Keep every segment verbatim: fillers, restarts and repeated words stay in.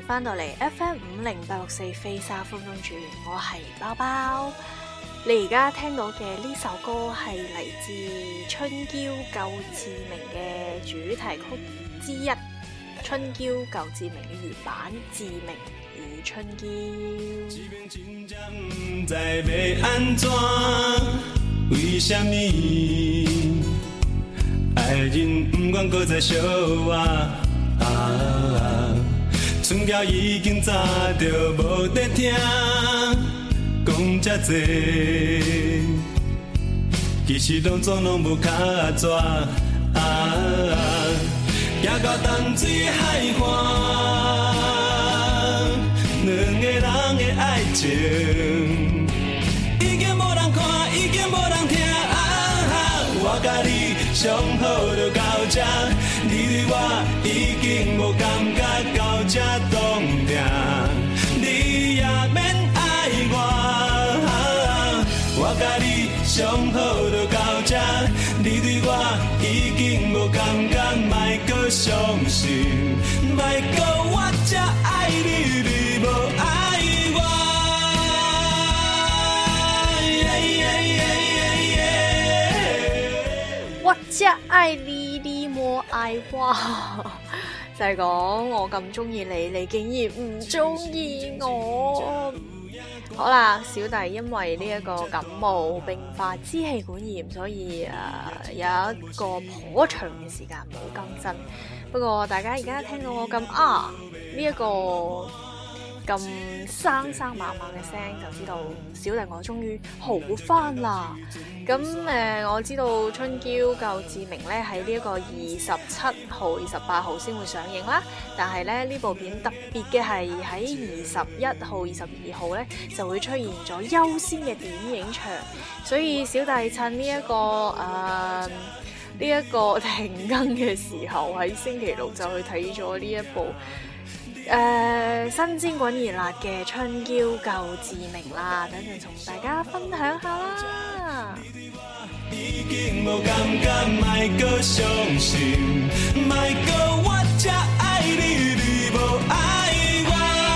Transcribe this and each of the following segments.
翻到嚟 F M 五零八六四飛沙風中轉，我係包包。你而家聽到嘅呢首歌係嚟自春嬌救志明嘅主題曲之一，春嬌救志明嘅原版《志明與春嬌》。為什麼愛人不願擱再相我啊，春嬌已經早就無得聽講這多，其實攏總攏無卡紙啊，行到淡水海岸，兩個人的愛情已經無人看，已經無人聽啊，我甲你上好就到這，你對我已經無感覺到這凍定，你也免愛我，我甲你上好就到這，你對我已經無感覺，莫閣傷心，莫閣我才愛你，你無愛我。我只愛你，你莫愛我，就係講我咁中意你，你竟然唔中意我。好啦，小弟因為呢一個感冒並發支氣管炎，所以誒、呃、有一個頗長嘅時間冇更新。不過大家而家聽到我咁啊呢一個咁生生猛猛嘅聲，就知道小弟我終於好翻啦。咁誒、呃，我知道春嬌救志明咧喺呢一個二十七號、二十八號先會上映啦。但係咧呢部片特別嘅係喺二十一號、二十二號咧就會出現咗優先嘅電影場，所以小弟趁呢、這、一個誒呢一個停更嘅時候，喺星期六就去睇咗呢一部誒、呃、新鮮滾熱辣嘅春嬌救志明啦，等陣同大家分享下啦。已經無感覺，莫閣傷心，莫閣我才愛你，你無愛我。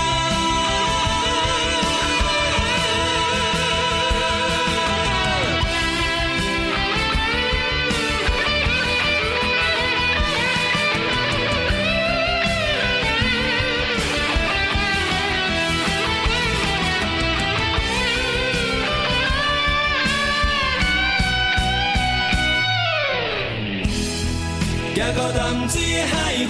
行到淡水海岸，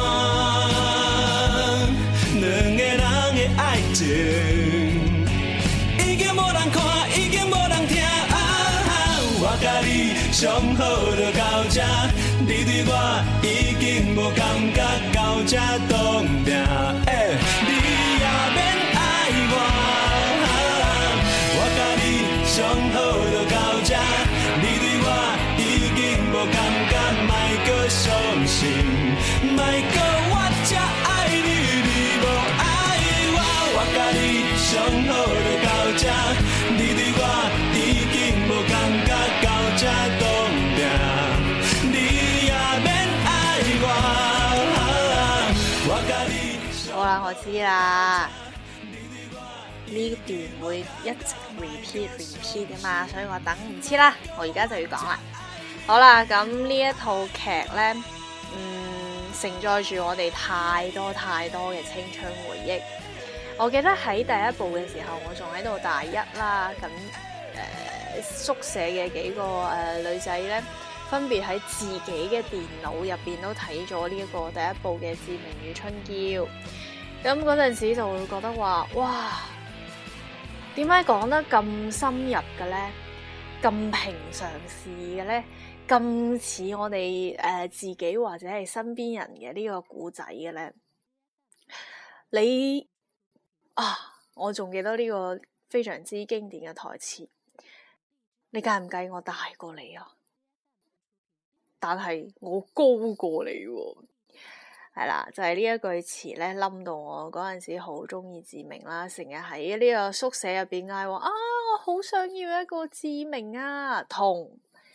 兩個人的愛情已經無人看，已經無人聽啊，我甲你上好就到這，你對我已經無感覺到這凍定，你也免愛我，我甲你上好就到這，你對我已經無感覺，莫閣傷心，莫閣我才愛你，你無愛我，我甲你上好就到這，你對我已經無感覺到這凍定，你也免愛我，我甲你。好啦，我知啦，呢段會一直 repeat repeat 㗎嘛，所以我等唔切啦，我而家就要講啦。好啦，咁呢一套劇呢，嗯，承載住我哋太多太多嘅青春回憶。我記得喺第一部嘅時候，我仲喺度大一啦，咁誒、呃、宿舍嘅幾個誒、呃、女仔呢，分別喺自己嘅電腦入邊都睇咗呢一個第一部嘅《志明與春嬌》。咁嗰陣時就會覺得話，哇，點解講得咁深入嘅呢？咁平常事嘅呢？咁似我哋誒、呃、自己或者係身邊人嘅呢個故仔嘅咧，你啊，我仲記得呢個非常之經典嘅台詞，你介唔介意我大過你啊？但係我高過你喎、啊，係啦，就係、是、呢一句詞咧，冧到我嗰陣時好中意志明啦，成日喺呢個宿舍入邊嗌話啊，我好想要一個志明啊，同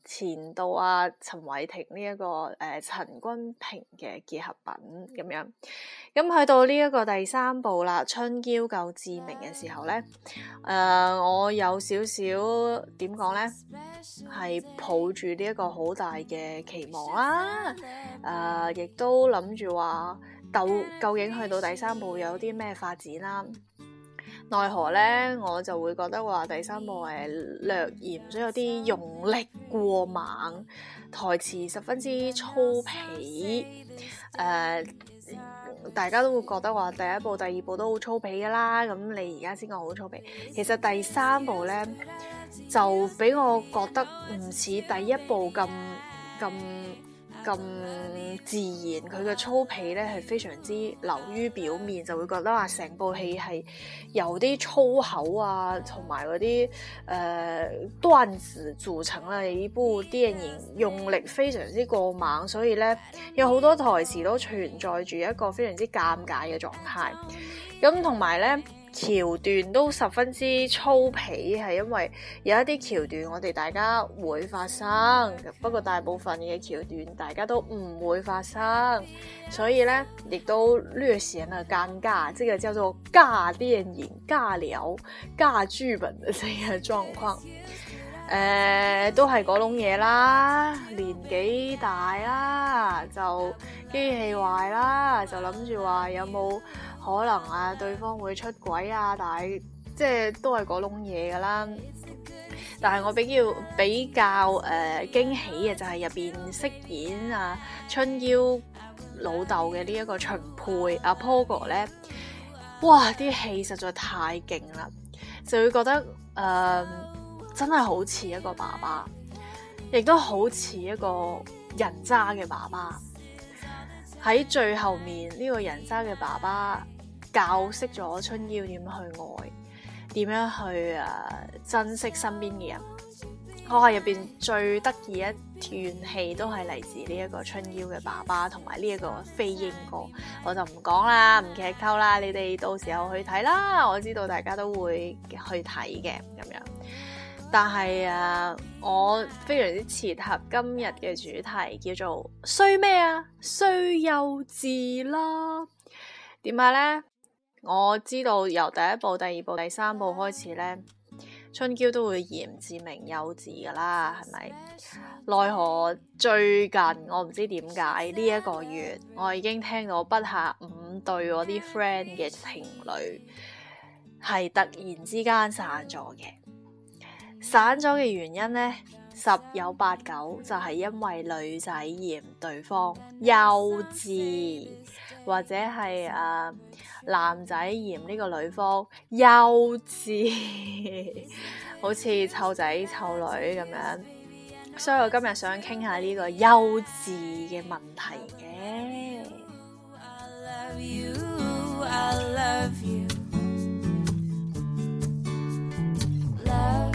前度啊陳偉霆呢、這、一個誒、呃、陳君平嘅結合品咁樣。咁去到呢一個第三部啦，春嬌救志明嘅時候咧，誒、呃、我有少少點講咧，係抱住呢一個好大嘅期望啦，誒、呃、亦都諗住話，到究竟去到第三部有啲咩發展啦？奈何咧，我就會覺得話第三部係略嫌咗有啲用力過猛，台詞十分之粗鄙，誒、呃，大家都會覺得話第一部、第二部都好粗鄙噶啦，咁你而家先講好粗鄙，其實第三部咧就俾我覺得唔似第一部咁咁咁自然，佢嘅粗鄙咧係非常之流於表面，就會覺得話成部戲係由啲粗口啊同埋嗰啲誒段子組成嘅一部電影，用力非常之過猛，所以咧有好多台詞都存在住一個非常之尷尬嘅狀態，咁同埋咧橋段都十分之粗鄙，係因為有一啲橋段我哋大家會發生，不過大部分嘅橋段大家都唔會發生，所以咧亦都略顯了尷尬，這個叫做尬電影、尬聊、尬劇本的這個狀況。誒、呃，都係嗰種嘢啦，年紀大啦，就機器壞啦，就諗住話有冇可能啊，對方會出軌啊，但係即係都係嗰種嘢噶啦。但係我比較比較誒、呃、驚喜嘅就係入邊飾演啊春嬌老豆嘅呢一個秦沛阿 Pogo 咧，哇啲戲實在太勁啦，就會覺得誒、呃、真係好似一個爸爸，亦都好似一個人渣嘅爸爸。喺最後面呢、這個人渣嘅爸爸教識咗春嬌點去愛，點樣去誒、呃、珍惜身邊嘅人。我係入邊最得意一段戲都係嚟自呢一個春嬌嘅爸爸同埋呢一個飛鷹哥，我就唔講啦，唔劇透啦，你哋到時候去睇啦。我知道大家都會去睇嘅咁樣，但係誒、啊，我非常之切合今日嘅主題，叫做衰咩啊？衰幼稚啦。點解咧？我知道由第一部、第二部、第三部開始咧，春嬌都會嫌志明幼稚噶啦，係咪？奈何最近我唔知點解呢一個月，我已經聽到不下五對我啲 friend 嘅情侶係突然之間散咗嘅。散咗嘅原因呢，十有八九就係因為女仔嫌對方幼稚，或者係誒、呃、男仔嫌呢個女方幼稚，好似湊仔湊女咁樣。所以我今日想傾下呢個幼稚嘅問題嘅。I love you, I love you, love,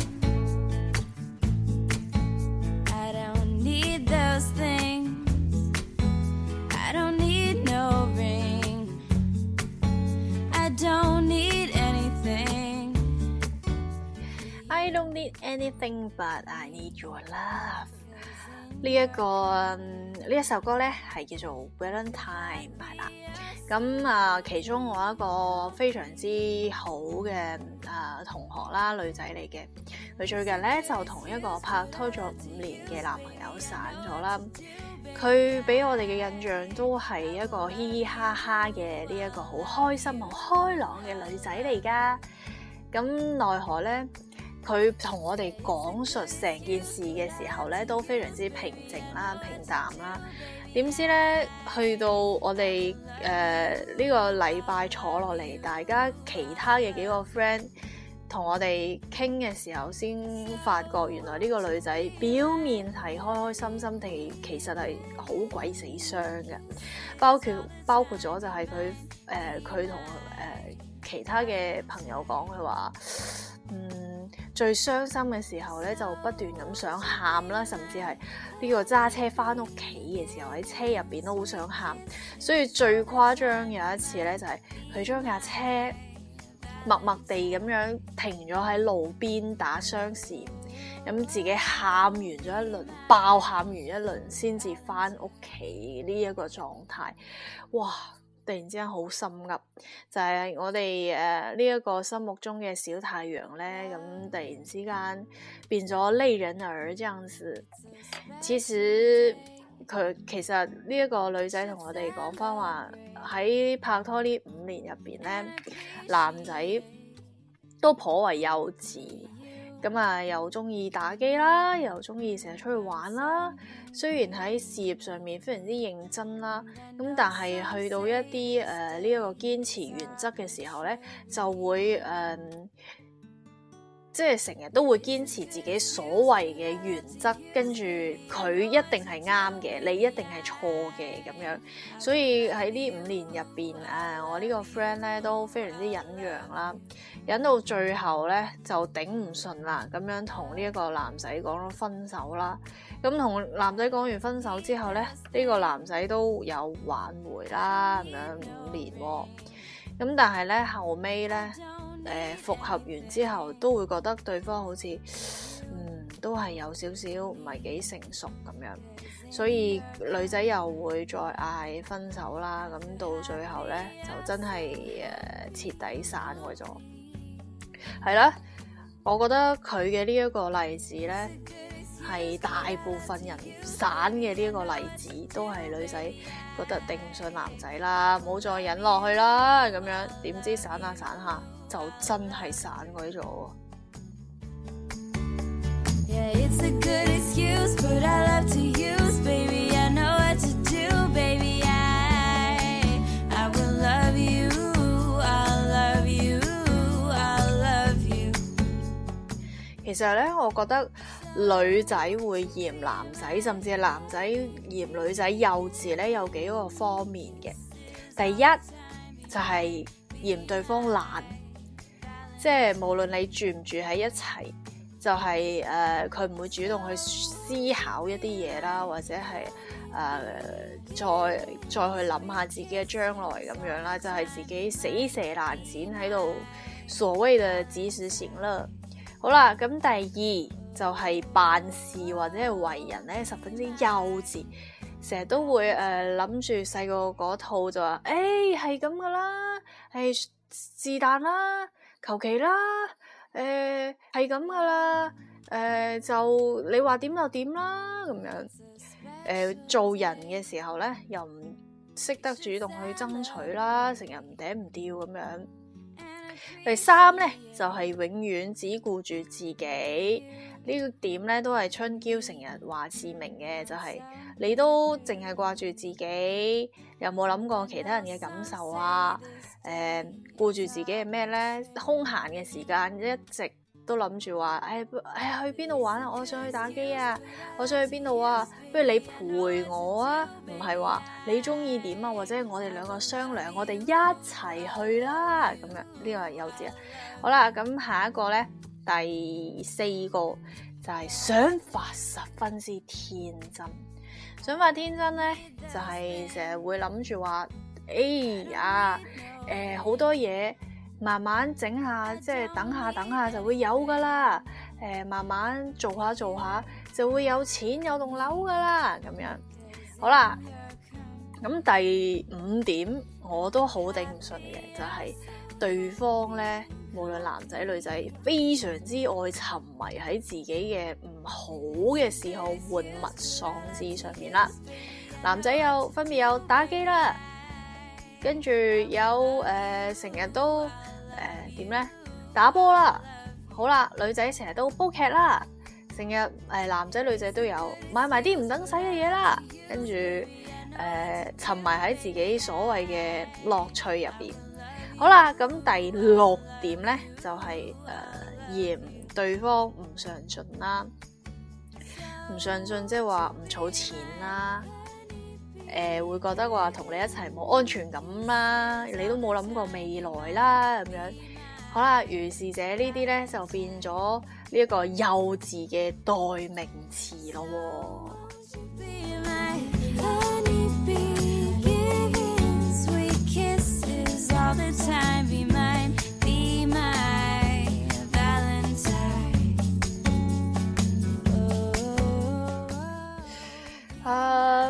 I don't need those things, I don't need no ring, I don't need anything, I don't need anything but I need your love。 呢一個呢一首歌咧係叫做 Valentine 係啦。咁啊，其中我一個非常之好嘅啊同學啦，女仔嚟嘅，佢最近咧就同一個拍拖咗五年嘅男朋友散咗啦。佢俾我哋嘅印象都係一個嘻嘻哈哈嘅呢一個好開心、好開朗嘅女仔嚟噶。咁奈何咧，佢同我哋講述成件事嘅時候咧，都非常之平靜啦、平淡啦。點知咧，去到我哋誒呢個禮拜坐落嚟，大家其他嘅幾個 friend 同我哋傾嘅時候，先發覺原來呢個女仔表面係開開心心地，其實係好鬼死傷嘅。包括包括咗就係佢誒佢同誒其他嘅朋友講，佢話嗯。最傷心嘅時候咧，就不斷咁想喊啦，甚至係呢個揸車翻屋企嘅時候喺車入邊都好想喊。所以最誇張有一次咧，就係佢將架車默默地咁樣停咗喺路邊打雙閃， 咁自己喊完咗一輪，爆喊完一輪先至翻屋企呢一個狀態，哇！突然之間好心噏，就係、是、我哋誒呢一個心目中嘅小太陽咧，咁突然之間變咗淚人兒這樣子。其實佢其實呢一個女仔同我哋講翻話，喺拍拖呢五年入邊咧，男仔都頗為幼稚。咁啊，又中意打機啦，又中意成日出去玩啦。雖然喺事業上面非常之認真啦，咁但係去到一啲誒呢一個堅持原則嘅時候咧，就會誒、呃、即係成日都會堅持自己所謂嘅原則，跟住佢一定係啱嘅，你一定係錯嘅咁樣。所以喺呢五年入邊，誒、呃、我呢個 friend 咧都非常之忍讓啦。忍到最後咧就頂唔順啦，咁樣同呢一個男仔講咗分手啦。咁同男仔講完分手之後咧，呢、呢個男仔都有挽回啦，咁樣五年喎、哦。咁但係咧後尾咧，誒、呃、復合完之後都會覺得對方好似，嗯，都係有少少唔係幾成熟咁樣，所以女仔又會再嗌分手啦。咁到最後咧就真係誒、呃、徹底散開咗。係啦，我覺得佢嘅呢一個例子呢，係大部分人散嘅呢一個例子，都係女仔覺得頂唔順男仔啦，唔好再忍落去啦，咁樣點知散下散下就真係散鬼咗。Yeah, it's a good excuse, but I love to use, baby, I know what to do, baby, I, I will love you, I'll love you.其實咧，我覺得女仔會嫌男仔，甚至係男仔嫌女仔幼稚咧，有幾個方面嘅。第一就係、是、嫌對方懶，即係無論你住唔住喺一齊，就係誒佢唔會主動去思考一啲嘢啦，或者係誒、呃、再再去諗下自己嘅將來咁樣啦，就係、是、自己死蛇爛鱔喺度所謂嘅及時行樂。好啦，咁第二就係、是、辦事或者係為人咧十分之幼稚，成日都會誒諗住細個嗰套就話，誒係咁噶啦，係是但啦，求其啦，誒係咁噶啦，誒、呃、就你話點就點啦咁樣，誒、呃、做人嘅時候咧又唔識得主動去爭取啦，成日唔嗲唔吊咁樣。第三咧就係、是、永遠只顧住自己，呢個點咧都係春嬌成日話志明嘅，就係、是、你都淨係掛住自己，有冇諗過其他人嘅感受啊？誒、呃，顧住自己係咩咧？空閒嘅時間一直都諗住話，誒、哎、誒、哎、去邊度玩啊？我想去打機啊！我想去邊度啊？不如你陪我啊？唔係話你中意點啊？或者我哋兩個商量，我哋一齊去啦！咁樣呢個係幼稚啊！好啦，咁下一個咧，第四個就係、是、想法十分之天真。想法天真咧，就係成日會諗住話，哎呀，誒、呃、好多嘢。慢慢整下，即係等下等下就會有噶啦。誒、呃，慢慢做下做下就會有錢有棟樓噶啦。咁樣好啦。咁第五點我都好頂唔順嘅，就係、是、對方咧，無論男仔女仔，非常之愛沉迷喺自己嘅唔好嘅嗜好、玩物喪志上面啦。男仔有分別有打機啦。跟住有誒成日都誒點咧打波啦，好啦，女仔成日都煲劇啦，成日誒男仔女仔都有買埋啲唔等使嘅嘢啦，跟住誒沉迷喺自己所謂嘅樂趣入邊。好啦，咁第六點咧就係誒嫌對方唔上進啦，唔上進即係話唔儲錢啦。誒、呃、會覺得話同你一齊冇安全感啦，你都冇諗過未來啦咁樣。好啦，如是者呢啲咧就變咗呢一個幼稚嘅代名詞咯喎。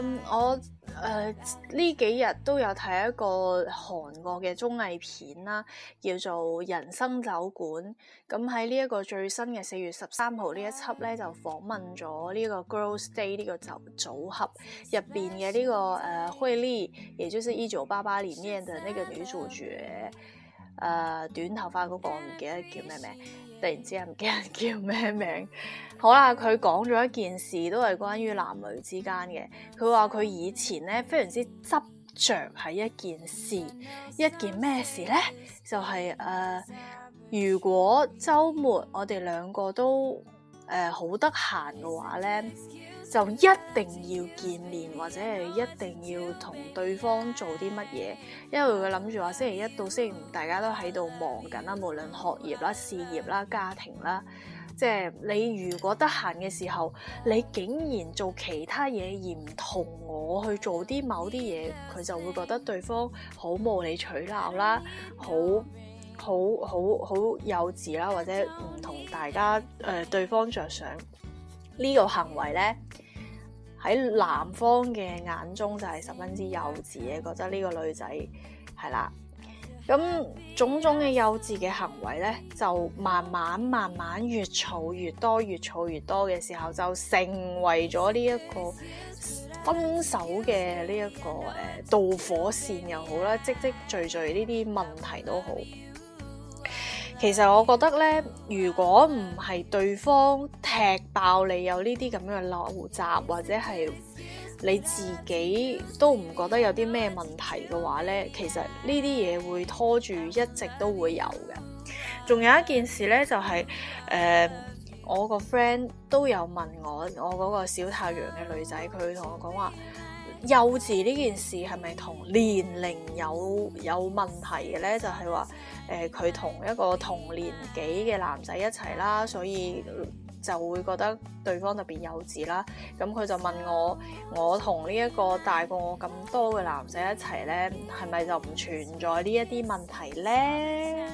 嗯，我誒呢幾日都有睇一個韓國嘅綜藝片啦，叫做《人生酒館》。咁喺呢一個最新嘅四月十三號呢一輯咧，就訪問咗呢個 Girls Day 呢個組組合入邊嘅呢個誒惠利，也就是一九八八裡面嘅那個女主角，誒、呃、短頭髮嗰、那個，我唔記得叫咩名。突然之間唔記得叫咩名，好啦，佢講咗一件事，都係關於男女之間嘅。佢話佢以前咧非常之執着喺一件事，一件咩事咧？就係、是、誒、呃，如果週末我哋兩個都誒好得閒嘅話咧，就一定要見面，或者係一定要同對方做啲乜嘢，因為佢諗住話星期一到星期五大家都喺度忙緊啦，無論學業啦、事業啦、家庭啦，即係你如果得閒嘅時候，你竟然做其他嘢而唔同我去做啲某啲嘢，佢就會覺得對方好無理取鬧啦，好好好好幼稚啦，或者唔同大家誒、呃、對方着想。呢個行為咧喺男方嘅眼中就係十分之幼稚嘅，覺得呢個女仔係啦。咁種種嘅幼稚嘅行為咧，就慢慢慢慢越儲越多，越儲越多嘅時候，就成為咗呢一個分手嘅呢一個誒、呃、導火線又好啦，積積聚聚呢啲問題都好。其實我覺得咧，如果唔係對方踢爆你有呢啲咁樣嘅陋習，或者係你自己都唔覺得有啲咩問題嘅話咧，其實呢啲嘢會拖住一直都會有嘅。仲有一件事咧，就係、是、誒、呃、我個 friend 都有問我，我嗰個小太陽嘅女仔，佢同我講話，幼稚呢件事係咪同年齡有有問題嘅咧？就係話誒佢同一個同年紀嘅男仔一齊啦，所以就會覺得對方特別幼稚啦。咁佢就問我，我同呢一個大過我咁多嘅男仔一齊咧，係咪就唔存在呢一啲問題咧？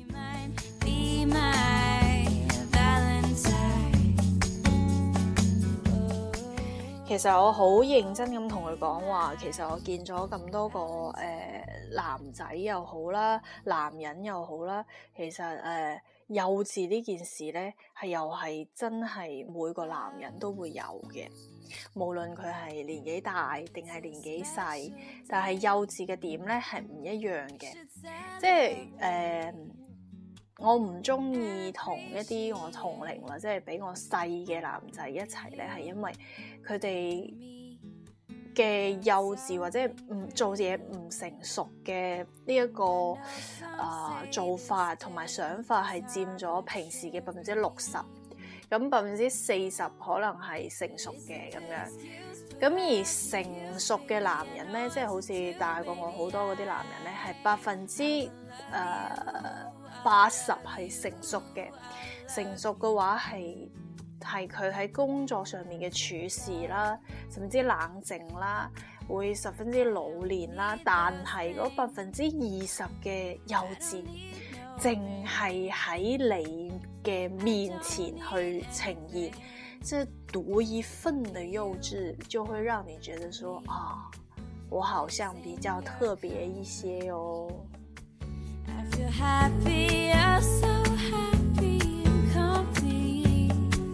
其實我好認真咁同佢講話，其實我見咗咁多個誒、呃、男仔又好啦，男人又好啦，其實誒、呃、幼稚呢件事咧，係又係真係每個男人都會有嘅，無論佢係年紀大定係年紀細，但係幼稚嘅點咧係唔一樣嘅，即係誒。呃我唔中意同一啲我同齡或者係比我細嘅男仔一齊咧，係因為佢哋嘅幼稚或者唔做嘢唔成熟嘅呢一個啊、呃、做法同埋想法係佔咗平時嘅百分之六十，咁百分之四十可能係成熟嘅咁樣。咁而成熟嘅男人咧，即係好似大過我好多嗰啲男人咧，係百分之誒八十係成熟嘅。成熟嘅話係係佢喺工作上面嘅處事啦，甚至冷靜啦，會十分之老練啦。但係嗰百分之二十嘅幼稚，淨係喺你嘅面前去呈現。這獨一份的幼稚就會讓你覺得說啊，我好像比較特別一些哦。I feel happy, I'm so happy and complete.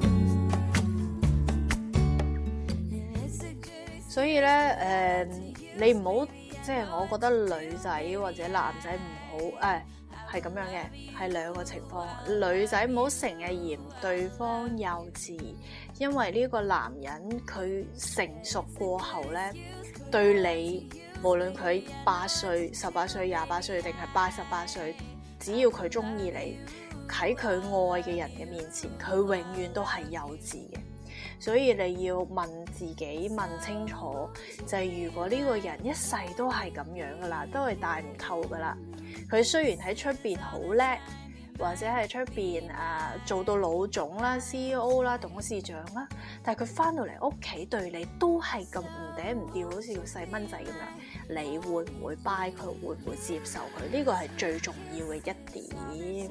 所以咧，誒、呃，你唔好即係，我覺得女仔或者男仔唔好誒。哎係咁樣嘅，係兩個情況。女仔唔好成日嫌對方幼稚，因為呢個男人佢成熟過後咧，對你無論佢八歲、十八歲、廿八歲定係八十八歲，只要佢中意你，喺佢愛嘅人嘅面前，佢永遠都係幼稚嘅。所以你要問自己問清楚，就係、是、如果呢個人一世都係咁樣噶啦，都係大唔透噶啦。佢雖然喺出邊好叻，或者係出邊誒做到老總啦、C E O 啦、董事長啦，但係佢翻到嚟屋企對你都係咁唔嗲唔吊，好似個細蚊仔咁樣，你會唔會 buy 佢？會唔會接受佢？呢個係最重要嘅一點。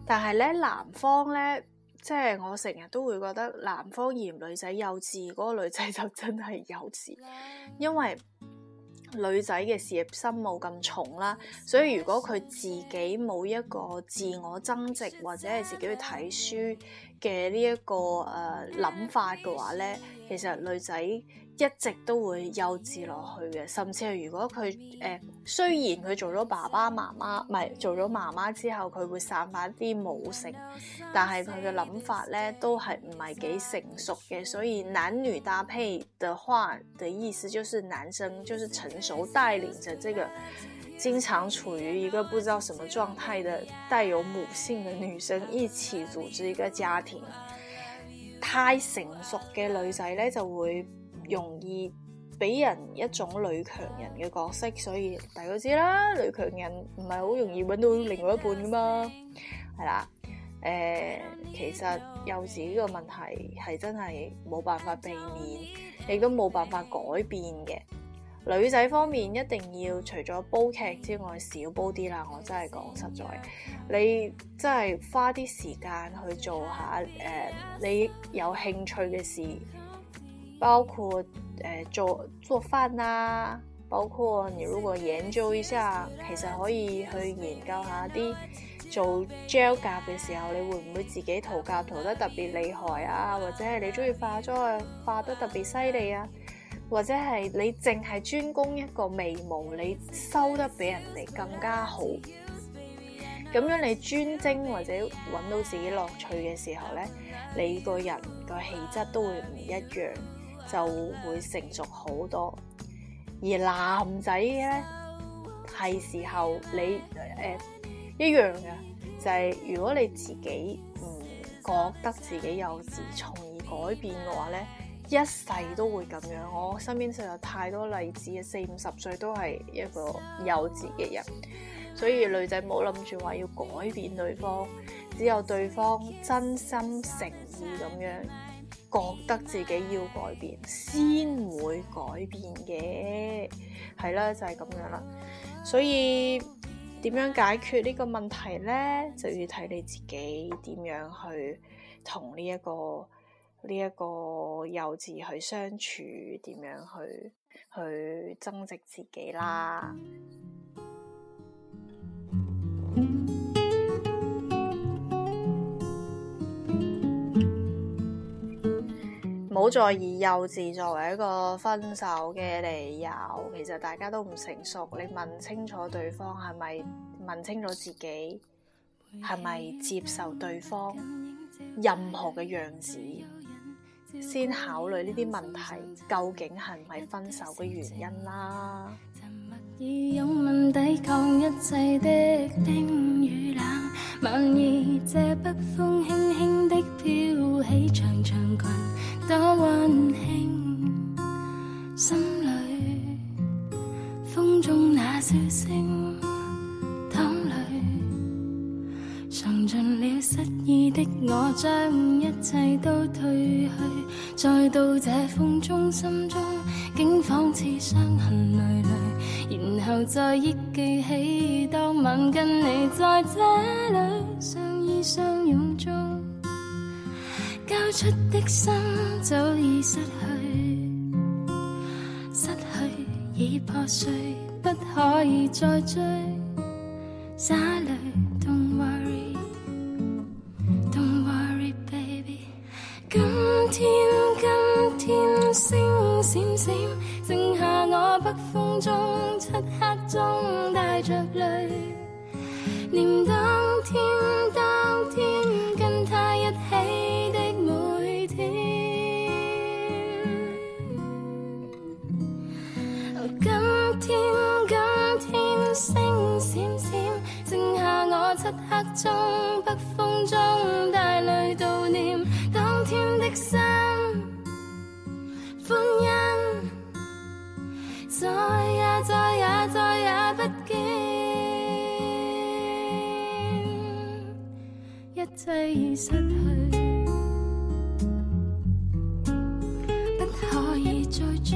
但係咧男方咧，即係我成日都會覺得男方嫌女仔幼稚，嗰個女仔就真係幼稚，因為女仔嘅事業心冇咁重啦，所以如果佢自己冇一個自我增值或者係自己去睇書嘅呢一個誒諗、呃、法嘅話咧，其實女仔一直都會幼稚落去嘅，甚至係如果佢誒、呃、雖然佢做咗爸爸媽媽，唔係做咗媽媽之後，佢會散發啲母性，但係佢嘅諗法咧都係唔係幾成熟嘅，所以男女搭配的話的意思就是男生就是成熟帶領着這個經常處於一個不知道什麼狀態的帶有母性的女生一起組織一個家庭。太成熟嘅女仔咧就會容易俾人一種女強人嘅角色，所以大家都知啦，女強人唔係好容易揾到另外一半噶嘛，係啦。誒、呃，其實幼稚呢個問題係真係冇辦法避免，亦都冇辦法改變嘅。女仔方面一定要除咗煲劇之外少煲啲啦，我真係講實在，你真係花啲時間去做下誒、呃、你有興趣嘅事，包括誒、呃、做做飯啦，包括你如果研究一下，其實可以去研究下啲做 gel 甲嘅時候，你會唔會自己塗甲塗得特別厲害啊？或者係你中意化妝啊，化得特別犀利啊？或者係你淨係專攻一個眉毛，你收得比人哋更加好，咁樣你專精或者揾到自己樂趣嘅時候呢，你個人個氣質都會唔一樣，就會成熟好多。而男仔呢，係時候你誒、呃、一樣嘅，就係、是、如果你自己唔覺得自己幼稚，從而改變嘅話呢，一世都會咁樣。我身邊實有太多例子嘅，四五十歲都係一個幼稚嘅人。所以女仔冇諗住話要改變對方，只有對方真心誠意咁樣覺得自己要改變，先會改變嘅。係啦，就係咁樣啦。所以點樣解決呢個問題呢？就要睇你自己點樣去同呢一個呢一個幼稚去相處，點樣去去增值自己啦。唔好再以幼稚作為一個分手嘅理由，其實大家都唔成熟，你問清楚對方係咪，問清楚自己係咪接受對方任何嘅樣子，先考慮呢啲問題究竟係唔係分手嘅原因啦。以勇猛抵抗一切的冰與冷，晚意這北風輕輕的飄起長長裙，多溫馨，心裏風中那笑聲，淌淚嘗盡了失意的我，將一切都褪去，再到這風中心中竟仿似傷痕累累，然後再憶記起當晚跟你在這裏相依相擁中，交出的心早已失去，失去已破碎，不可以再追。灑淚 Don't worry Don't worry baby， 今天今天星閃閃，剩下我北風中漆黑中帶着淚，念當天當天跟他一起的每天。今天今天星閃閃，剩下我漆黑中北風中帶淚悼念當天的心，歡欣再也再也再也不見，一切已失去，不可以再追，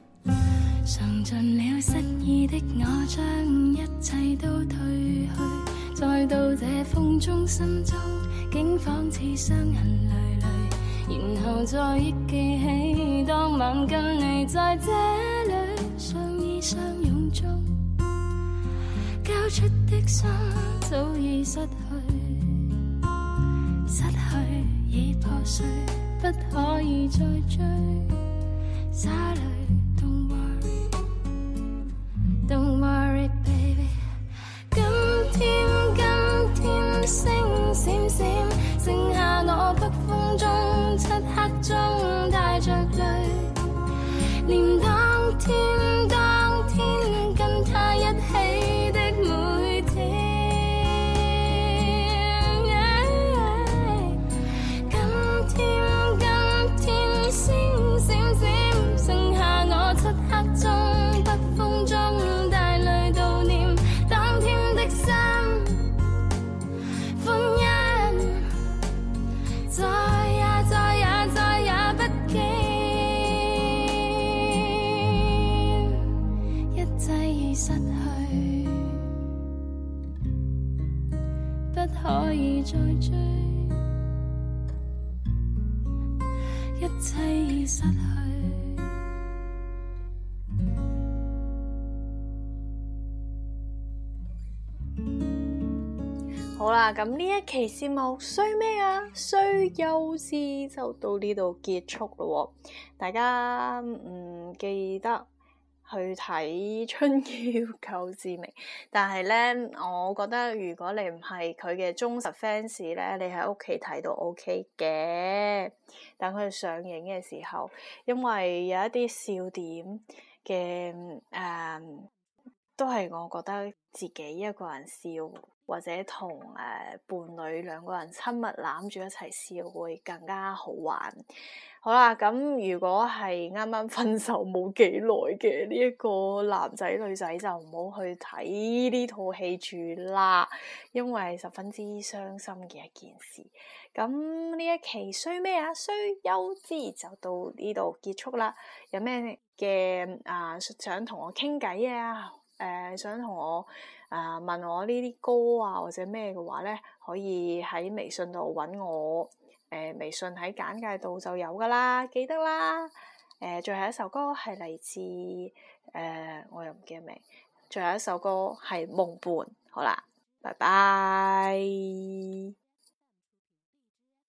嘗盡了失意的我，將一切都褪去， 再到這風中，心中竟仿似傷痕累累，然後再憶記起當晚跟你在這裏相依相擁中，交出的心早已失去，失去已破碎，不可以再追。灑淚 Don't worry Don't worry baby， 今天今天星閃閃，剩下我北風中漆黑中帶着淚，念當天當天跟他一起的每天， yeah, 今天今天星閃閃，剩下我漆黑中北風中帶淚悼念當天的心歡欣，再也再也再也不見，一切已失去，不可以再追，一切已失去。 好啦，咁呢一期節目衰咩啊？衰幼稚就到呢度結束咯。大家唔記得去睇《春嬌救志明》，但係呢，我覺得如果你唔係佢嘅忠實 fans 咧，你喺屋企睇都 OK 嘅。等佢上映嘅時候，因為有一啲笑點嘅誒、嗯，都係我覺得自己一個人笑，或者同誒、呃、伴侶兩個人親密攬住一齊笑會更加好玩。好啦，咁如果係啱啱分手冇幾耐嘅呢一個男仔女仔就唔好去睇呢套戲住啦，因為十分之傷心嘅一件事。咁呢一期衰咩啊？衰幼稚就到呢度結束啦。有咩嘅啊想同我傾偈啊？誒、呃，想同我啊、呃、問我呢啲歌啊或者咩嘅話咧，可以喺微信度揾我。誒、呃，微信喺簡介度就有噶啦，記得啦。誒、呃，最後一首歌係嚟自誒、呃，我又唔記得名。最後一首歌係夢伴。好啦，拜拜。